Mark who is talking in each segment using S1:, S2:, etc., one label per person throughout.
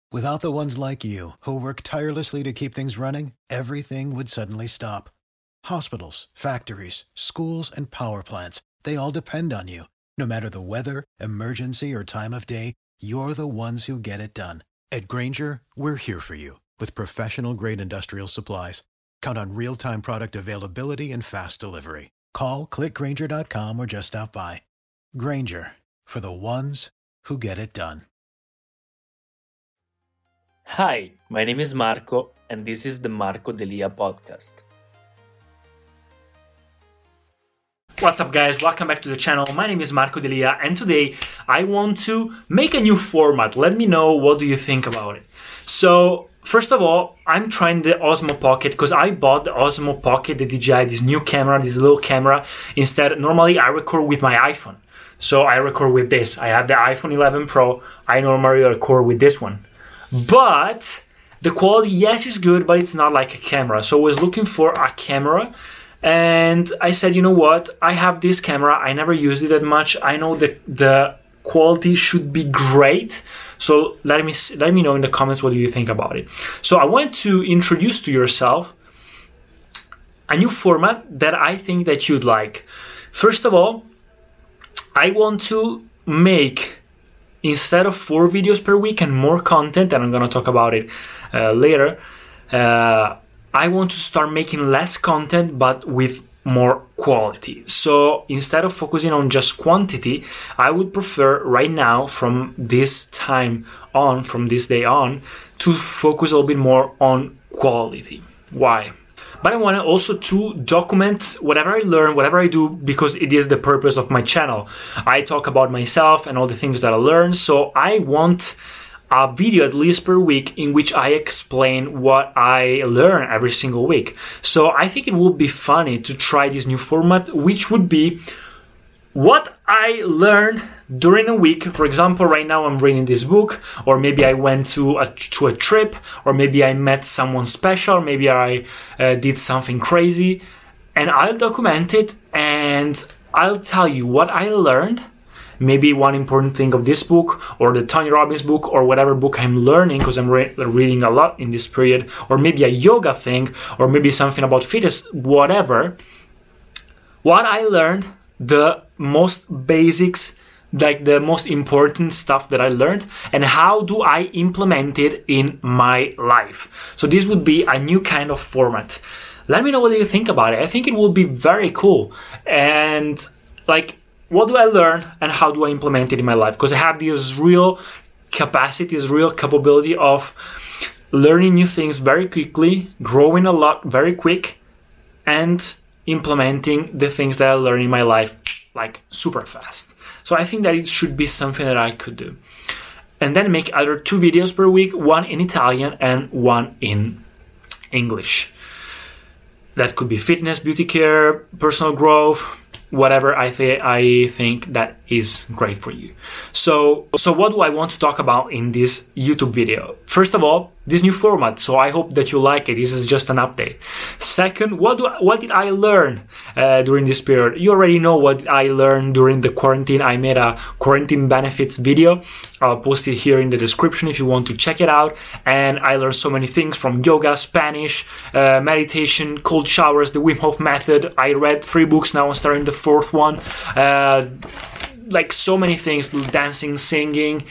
S1: Without the ones like you, who work tirelessly to keep things running, everything would suddenly stop. Hospitals, factories, schools, and power plants, they all depend on you. No matter the weather, emergency, or time of day, you're the ones who get it done. At Grainger, we're here for you with professional-grade industrial supplies. Count on real-time product availability and fast delivery. Call, click Grainger.com, or just stop by. Grainger, for the ones who get it done.
S2: Hi, my name is Marco, and this is the Marco Delia podcast.
S3: What's up, guys? Welcome back to the channel. My name is Marco Delia, and today I want to make a new format. Let me know what do you think about it. So, first of all, I'm trying the Osmo Pocket because I bought the Osmo Pocket, the DJI, this new camera, this little camera. Instead, normally I record with my iPhone. So I record with this. I have the iPhone 11 Pro. I normally record with this one. But the quality, yes, is good, but it's not like a camera. So I was looking for a camera, and I said, you know what? I have this camera. I never used it that much. I know that the quality should be great. So let me know in the comments what do you think about it. So I want to introduce to yourself a new format that I think that you'd like. First of all, I want to make, instead of 4 videos per week and more content, and I'm going to talk about it later, I want to start making less content but with more quality. So instead of focusing on just quantity, I would prefer right now, from this time on, from this day on, to focus a little bit more on quality. Why? But I want also to document whatever I learn, whatever I do, because it is the purpose of my channel. I talk about myself and all the things that I learn, so I want a video at least per week in which I explain what I learn every single week. So I think it would be funny to try this new format, which would be what I learned during a week. For example, right now I'm reading this book, or maybe I went to a trip, or maybe I met someone special, or maybe I did something crazy, and I'll document it and I'll tell you what I learned. Maybe one important thing of this book, or the Tony Robbins book, or whatever book I'm learning, because I'm reading a lot in this period, or maybe a yoga thing, or maybe something about fitness, whatever. What I learned, the most basics, like the most important stuff that I learned, and how do I implement it in my life. So this would be a new kind of format. Let me know what you think about it. I think it will be very cool. And what do I learn and how do I implement it in my life? Because I have this real capacity, this real capability of learning new things very quickly, growing a lot very quick, and implementing the things that I learn in my life like super fast. So I think that it should be something that I could do. And then make either 2 videos per week, one in Italian and one in English. That could be fitness, beauty care, personal growth, whatever I think that is great for you. So what do I want to talk about in this YouTube video? First of all, this new format. So I hope that you like it. This is just an update. Second, what did I learn during this period? You already know what I learned during the quarantine. I made a quarantine benefits video. I'll post it here in the description if you want to check it out. And I learned so many things, from yoga, Spanish, meditation, cold showers, the Wim Hof method. I read 3 books, now I'm starting the 4th one. So many things, dancing, singing,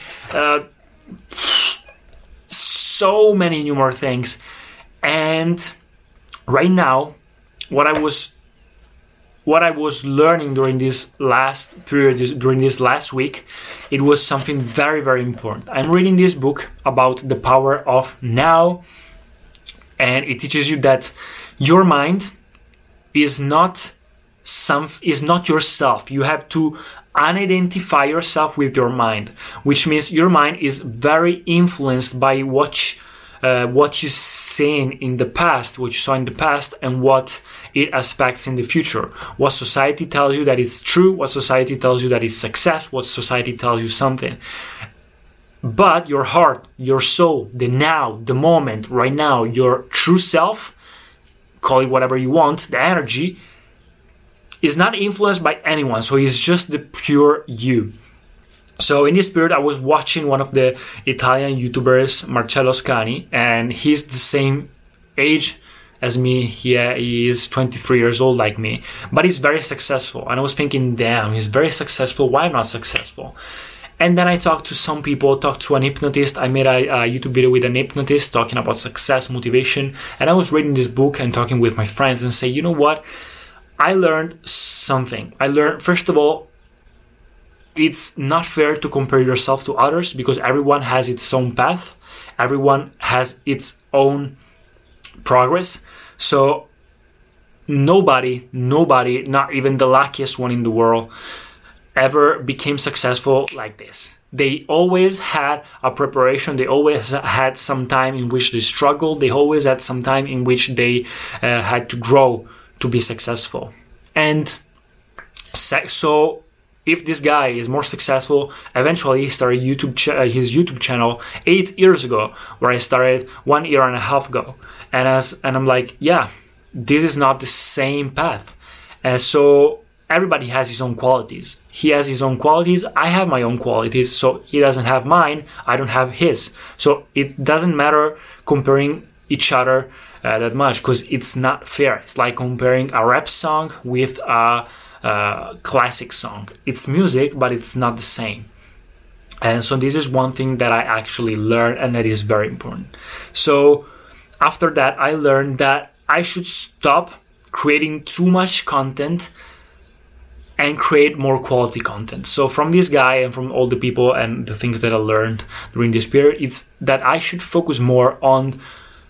S3: so many new more things. And right now, what I was learning during this last period, during this last week, it was something very, very important. I'm reading this book about the power of now, and it teaches you that your mind is not yourself. You have to unidentify yourself with your mind, which means your mind is very influenced by what you seen in the past, what you saw in the past, and what it expects in the future. What society tells you that it's true, what society tells you that it's success, what society tells you something. But your heart, your soul, the now, the moment, right now, your true self, call it whatever you want, the energy, is not influenced by anyone. So it's just the pure you. So in this period, I was watching one of the Italian YouTubers, Marcello Scani, and he's the same age as me. He is 23 years old like me, but he's very successful. And I was thinking, damn, he's very successful. Why am I not successful? And then I talked to some people, talked to an hypnotist. I made a YouTube video with an hypnotist talking about success, motivation. And I was reading this book and talking with my friends and say, you know what? I learned something. I learned, first of all, it's not fair to compare yourself to others because everyone has its own path. Everyone has its own progress. So nobody, not even the luckiest one in the world, ever became successful like this. They always had a preparation. They always had some time in which they struggled. They always had some time in which they had to grow to be successful. And so if this guy is more successful, eventually he started his YouTube channel 8 years ago, where I started 1.5 years ago. And I'm like, yeah, this is not the same path. And so everybody has his own qualities. He has his own qualities. I have my own qualities. So he doesn't have mine. I don't have his. So it doesn't matter comparing each other that much, because it's not fair. It's like comparing a rap song with a classic song. It's music, but it's not the same. And so this is one thing that I actually learned, and that is very important. So after that, I learned that I should stop creating too much content and create more quality content. So from this guy and from all the people and the things that I learned during this period, it's that I should focus more on,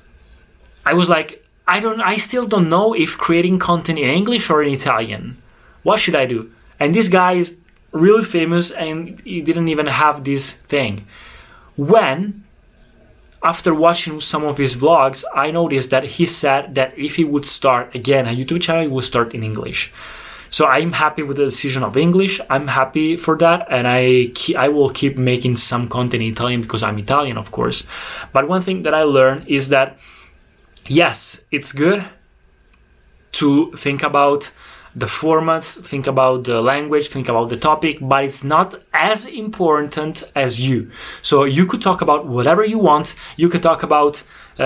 S3: I was like, I still don't know if creating content in English or in Italian. What should I do? And this guy is really famous and he didn't even have this thing. When, after watching some of his vlogs, I noticed that he said that if he would start again a YouTube channel, he would start in English. So I'm happy with the decision of English. I'm happy for that. And I will keep making some content in Italian because I'm Italian, of course. But one thing that I learned is that, yes, it's good to think about the formats, think about the language, think about the topic, but it's not as important as you. So you could talk about whatever you want. You could talk about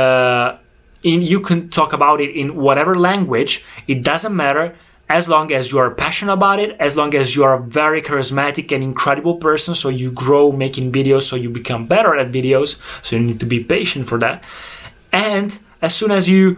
S3: you can talk about it in whatever language. It doesn't matter, as long as you are passionate about it, as long as you are a very charismatic and incredible person, so you grow making videos, so you become better at videos. So you need to be patient for that. And as soon as you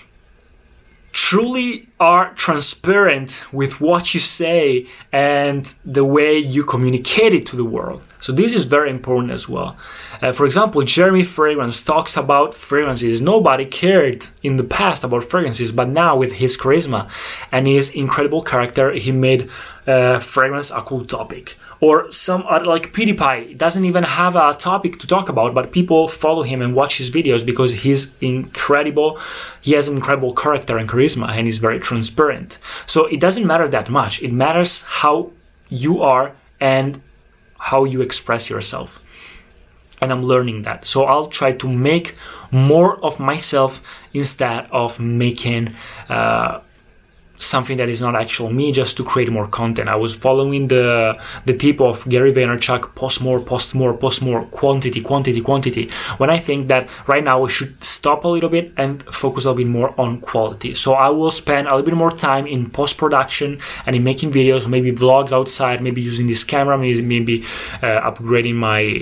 S3: truly are transparent with what you say and the way you communicate it to the world. So this is very important as well. For example, Jeremy Fragrance talks about fragrances. Nobody cared in the past about fragrances, but now with his charisma and his incredible character, he made fragrance a cool topic. Or some other, like PewDiePie, doesn't even have a topic to talk about, but people follow him and watch his videos because he's incredible. He has an incredible character and charisma, and he's very transparent. So it doesn't matter that much. It matters how you are and how you express yourself. And I'm learning that. So I'll try to make more of myself instead of making something that is not actual me, just to create more content. I was following the tip of Gary Vaynerchuk: post more, quantity. When I think that right now we should stop a little bit and focus a little bit more on quality. So I will spend a little bit more time in post-production and in making videos, maybe vlogs outside, maybe using this camera, maybe upgrading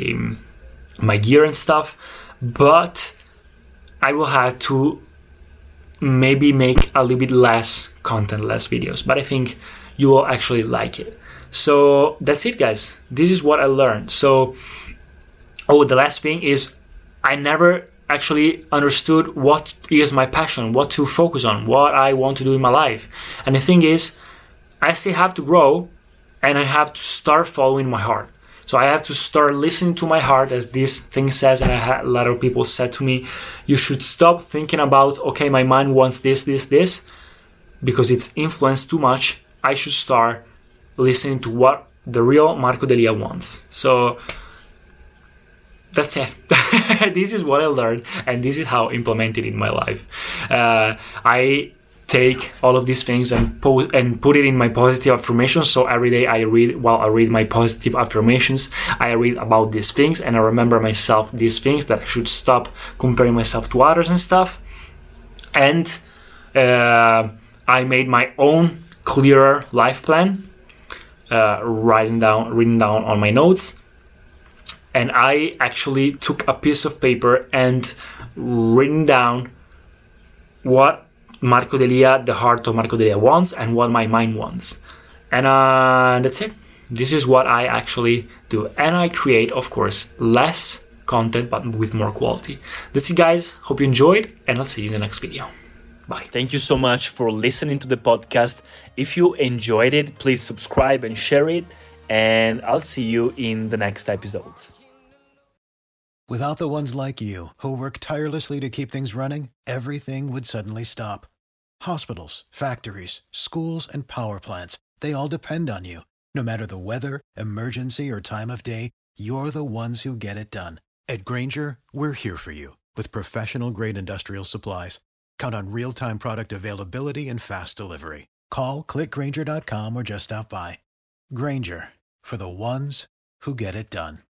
S3: my gear and stuff. But I will have to maybe make a little bit less content, less videos, but I think you will actually like it. So that's it, guys. This is what I learned. So, the last thing is, I never actually understood what is my passion, what to focus on, what I want to do in my life. And the thing is, I still have to grow, and I have to start following my heart. So I have to start listening to my heart, as this thing says, and a lot of people said to me, you should stop thinking about, okay, my mind wants this, because it's influenced too much. I should start listening to what the real Marco Delia wants. So that's it. This is what I learned, and this is how I implement it in my life. I take all of these things and put it in my positive affirmations. So every day I read my positive affirmations, I read about these things, and I remember myself these things, that I should stop comparing myself to others and stuff. And I made my own clearer life plan, written down on my notes. And I actually took a piece of paper and written down what Marco Delia, the heart of Marco Delia, wants and what my mind wants. And that's it. This is what I actually do. And I create, of course, less content but with more quality. That's it, guys. Hope you enjoyed, and I'll see you in the next video. Bye.
S2: Thank you so much for listening to the podcast. If you enjoyed it, please subscribe and share it. And I'll see you in the next episodes.
S1: Without the ones like you, who work tirelessly to keep things running, everything would suddenly stop. Hospitals, factories, schools, and power plants, they all depend on you. No matter the weather, emergency, or time of day, you're the ones who get it done. At Grainger, we're here for you with professional-grade industrial supplies. Count on real-time product availability and fast delivery. Call, click Grainger.com, or just stop by. Grainger, for the ones who get it done.